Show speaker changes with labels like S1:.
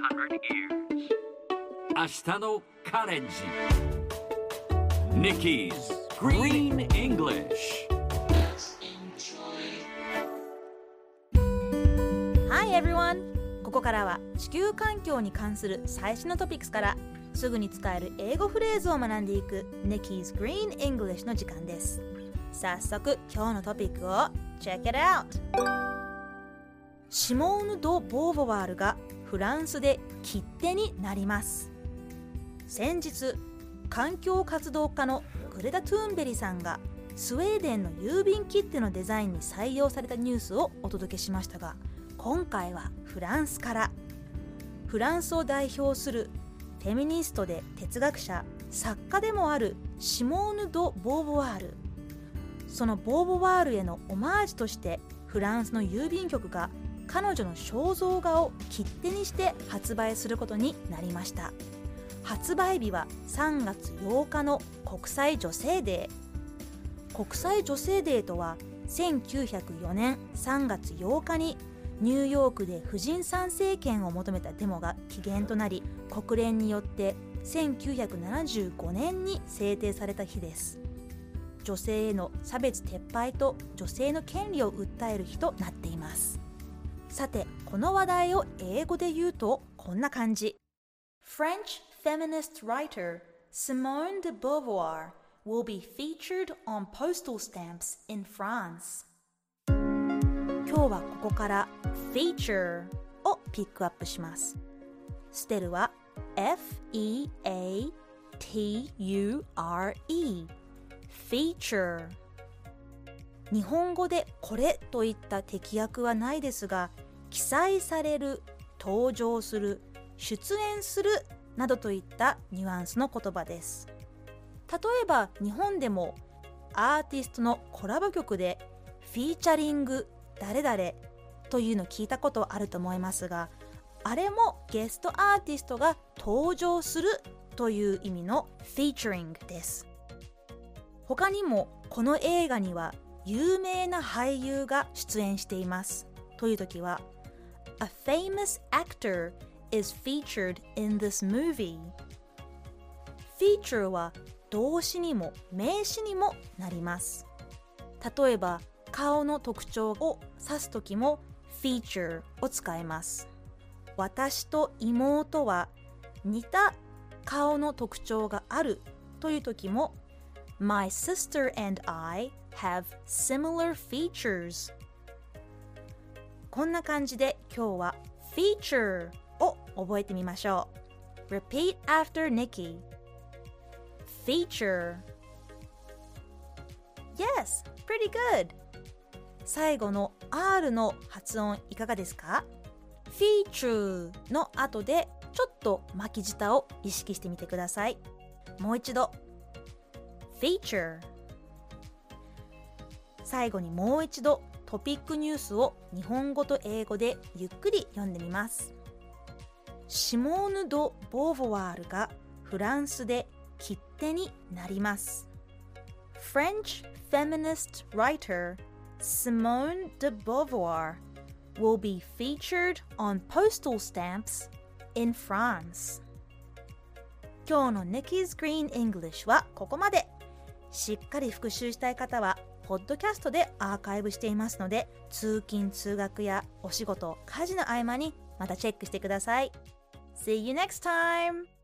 S1: 明日のカレンジ Nikki's Green English
S2: Hi everyone! ここからは地球環境に関する最新のトピックスからすぐに使える英語フレーズを学んでいく Nikki's Green English の時間です。早速今日のトピックを Check it out! シモーヌ・ド・ボーヴォワールがフランスで切手になります。先日環境活動家のグレタ・トゥーンベリさんがスウェーデンの郵便切手のデザインに採用されたニュースをお届けしましたが、今回はフランスから。フランスを代表するフェミニストで哲学者、作家でもあるシモーヌ・ド・ボーヴォワール。そのボーヴォワールへのオマージュとしてフランスの郵便局が彼女の肖像画を切手にして発売することになりました。発売日は3月8日の国際女性デー。国際女性デーとは1904年3月8日にニューヨークで婦人参政権を求めたデモが起源となり、国連によって1975年に制定された日です。女性への差別撤廃と女性の権利を訴える日となっています。さて、この話題を英語で言うとこんな感じ。French feminist writer Simone de Beauvoir will be featured on postal stamps in France. 今日はここからfeature をピックアップします。スペルは F-E-A-T-U-R-E feature。 日本語でこれといった適訳はないですが、記載される、登場する、出演するなどといったニュアンスの言葉です。例えば日本でもアーティストのコラボ曲でフィーチャリング誰々というの聞いたことあると思いますが、あれもゲストアーティストが登場するという意味の featuring です。他にもこの映画には有名な俳優が出演していますという時は A famous actor is featured in this movie。 feature は動詞にも名詞にもなります。例えば顔の特徴を指すときも feature を使います。私と妹は似た顔の特徴があるというときも My sister and I have similar features。 こんな感じで今日は feature を覚えてみましょう。 Repeat after Nikki. Feature. Yes, pretty good。最後の R の発音いかがですか？ feature の後でちょっと巻き舌を意識してみてください。もう一度 feature。 最後にもう一度トピックニュースを日本語と英語でゆっくり読んでみます。シモーヌ・ド・ボーヴォワールがフランスで切手になります。 French feminist writer Simone de Beauvoir will be featured on postal stamps in France。 今日の Nikki's Green English はここまで。しっかり復習したい方はポッドキャストでアーカイブしていますので、通勤通学やお仕事、家事の合間にまたチェックしてください。See you next time!